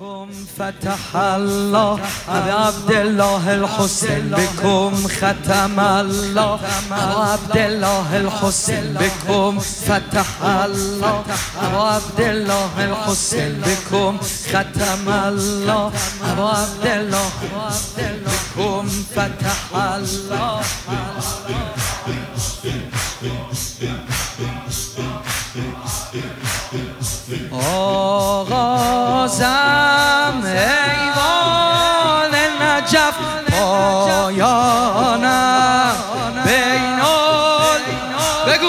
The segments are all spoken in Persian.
بكم فتح الله عبد الله الحسين بكم ختم الله عبد الله الحسين بكم فتح الله عبد الله الحسين بكم ختم الله عبد الله بكم فتح الله. آغازم ایوان نجف پایانم بین بگو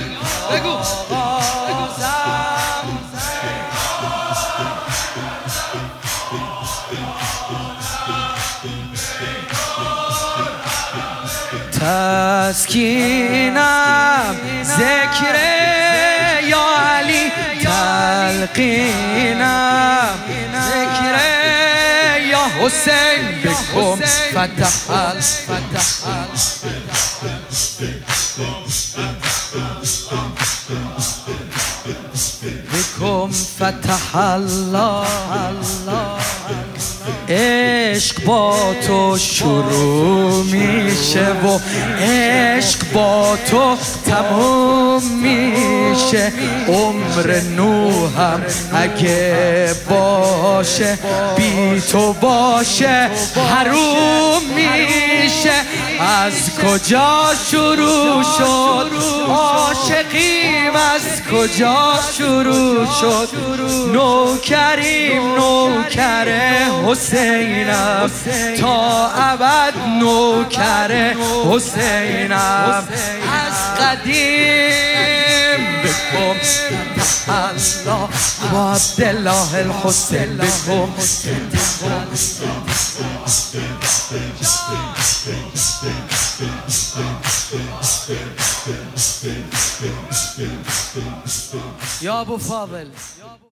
تسکینم ذکر یا علی تلقینم ذکر یا حسین بکم فتح بکم فتح الله. عشق با تو شروع میشه و عشق با تو تموم میشه. عمر نوحم اگه باشه بی تو باشه حروم میشه. از کجا شروع شد عاشقیم، از کجا شروع شد نوکریم، نوکر حسینم تا ابد نوکر حسینم. از قدیم بکم الله و عبدالله الحسین بکم. یا ابو فاضل